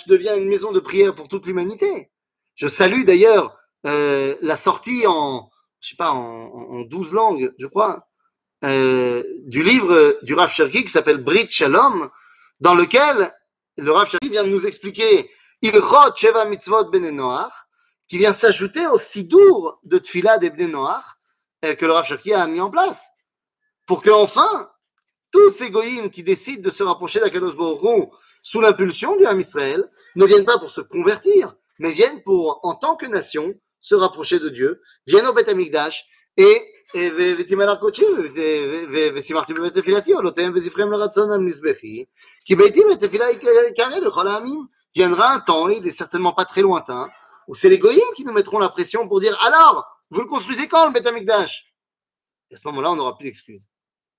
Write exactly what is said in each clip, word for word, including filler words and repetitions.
Amikdash devient une maison de prière pour toute l'humanité. Je salue d'ailleurs euh, la sortie en, je sais pas, en, en douze langues, je crois, euh, du livre du Rav Cherki qui s'appelle Brit Shalom, dans lequel le Rav Cherki vient de nous expliquer Ilchot Sheva Mitzvot Bnei Noach, qui vient s'ajouter au Sidour de Tfila des Bnei Noach euh, que le Rav Cherki a mis en place, pour que enfin tous ces goïms qui décident de se rapprocher d'Akadosh Baruch Hu sous l'impulsion du Ham Israël ne viennent pas pour se convertir, mais viennent pour, en tant que nation, se rapprocher de Dieu, viennent au Beth Amikdash et ותימל הקודשי ושימחתי בבית תפילתי עולותיהם וזפריהם לרצון על מזבחי כי ביתי בית תפילה יקרא לכל העמים. Viendra un temps, il est certainement pas très lointain, où c'est les goïms qui nous mettront la pression pour dire alors, vous le construisez quand le Beth Amikdash? Et à ce moment-là, on n'aura plus d'excuses.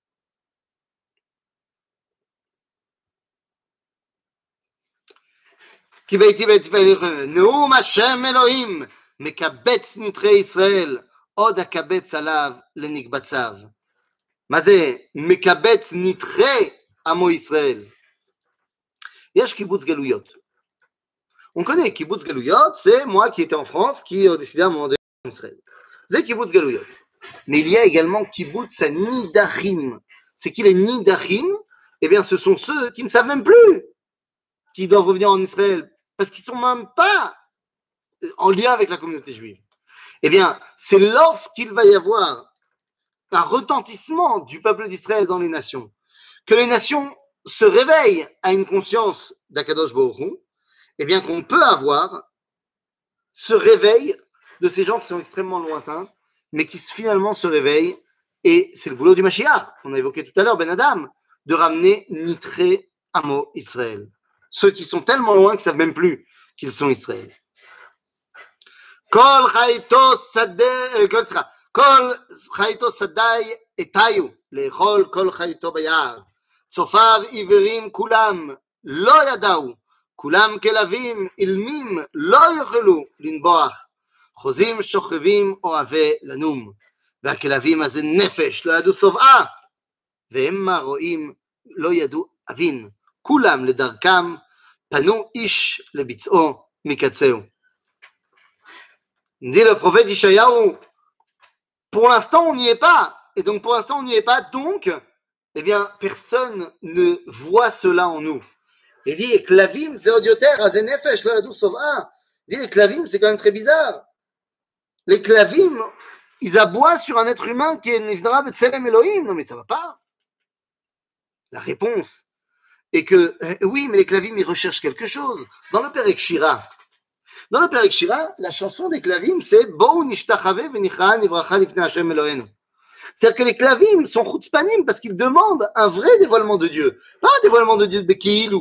כי ביתי בית תפילה נאום השם אלוהים מקבץ נתרי ישראל עוד הקבץ עליו לנקבציו. מה זה מקבץ נתחי עמו ישראל? יש קיבוץ גלויות. On connaît קיבוץ גלויות, c'est moi qui étais en France, qui a décidé à un moment donné en Israël. C'est קיבוץ גלויות. Mais il y a également קיבוץ הנidachim. C'est qui les nidachim? Eh bien, ce sont ceux qui ne savent même plus qu'ils doivent revenir en Israël, parce qu'ils ne sont même pas en lien avec la communauté juive. Eh bien, c'est lorsqu'il va y avoir un retentissement du peuple d'Israël dans les nations, que les nations se réveillent à une conscience d'Akadosh Baruch Hu, eh bien qu'on peut avoir ce réveil de ces gens qui sont extrêmement lointains, mais qui finalement se réveillent, et c'est le boulot du Mashiach, on a évoqué tout à l'heure, Ben Adam, de ramener Nitré Amo Israël. Ceux qui sont tellement loin qu'ils ne savent même plus qu'ils sont Israël. כל חייתו שדה, כל סליחה, כל חייתו שדי אתיו, לאכול כל חייתו ביער. צופיו עיוורים כולם, לא ידעו, כולם כלבים אילמים, לא יוכלו לנבוח. חוזים שוכבים אוהבי לנום, והכלבים הזה נפש, לא ידעו שובעה, והמה רואים, לא ידעו אבין. כולם לדרכם, פנו איש לביצעו מקצהו. Dit le prophète Ishayahu, pour l'instant on n'y est pas, et donc pour l'instant on n'y est pas, donc, eh bien, personne ne voit cela en nous. Il dit, et Klavim, c'est odioter, azenefesh, lo yadou sova. Il dit, les Klavim, c'est quand même très bizarre. Les Klavim, ils aboient sur un être humain qui est Nivdara Betselem Elohim. Non mais ça va pas. La réponse est que, euh, oui, mais les Klavim, ils recherchent quelque chose. Dans le Perek Shira, Dans le Perek Shira, la chanson des Klavim, c'est Bo'u nishtachave v'nichra nivracha lifnei Hashem Eloheinu. C'est-à-dire que les Klavim sont chutzpanim parce qu'ils demandent un vrai dévoilement de Dieu, pas un dévoilement de Dieu de Bekiilou.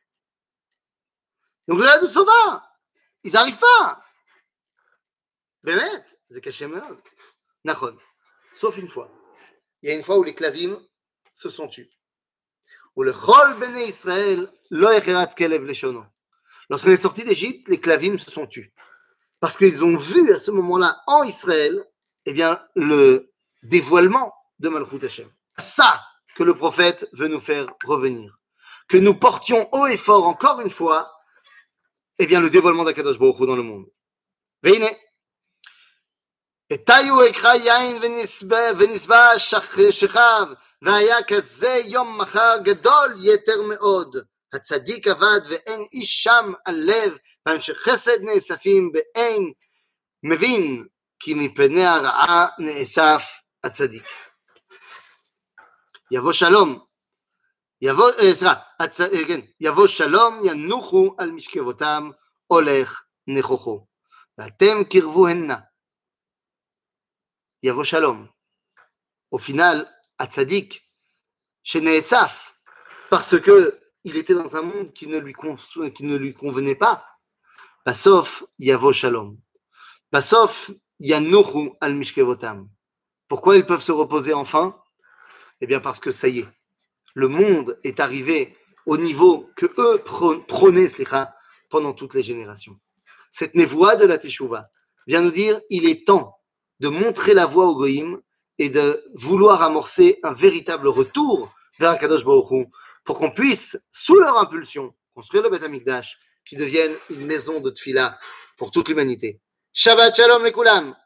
Donc là, d'où ça va? Ils n'arrivent pas. Bémet, c'est caché meod. Nachon. Sauf une fois. Il y a une fois où les Klavim se sont tus. Où le Chol Bnei Israël lo yecherat kelev leshono. Lorsqu'on est sorti d'Égypte, les Klavim se sont tus. Parce qu'ils ont vu à ce moment-là, en Israël, eh bien, le dévoilement de Malchut Hashem. C'est ça que le prophète veut nous faire revenir. Que nous portions haut et fort, encore une fois, eh bien, le dévoilement d'Akadosh Baruch Hu dans le monde. Veine. etayu ekra yain venisba shechav, vaya kaze yom machar gadol yeter meod. הצדיק עבד ואין איש שם על לב, ואנשי חסד נאספים באין מבין, כי מפני הרעה נאסף הצדיק. יבוא שלום, יבוא, סליחה, הצ... כן, יבוא שלום ינוחו על משכבותם, הולך נכוחו, ואתם קרבוהנה. יבוא שלום. Au final, הצדיק שנאסף, parce que il était dans un monde qui ne lui, con... qui ne lui convenait pas. Basof yavo shalom. Basof yanuchu al mishkevotam. Pourquoi ils peuvent se reposer enfin? Eh bien parce que ça y est, le monde est arrivé au niveau que eux prônaient slicha, pendant toutes les générations. Cette névoie de la Teshuvah vient nous dire il est temps de montrer la voie au goïm et de vouloir amorcer un véritable retour vers Akadosh Baruch Hu, pour qu'on puisse, sous leur impulsion, construire le Beth Amikdash qui devienne une maison de tfila pour toute l'humanité. Shabbat shalom les koulam.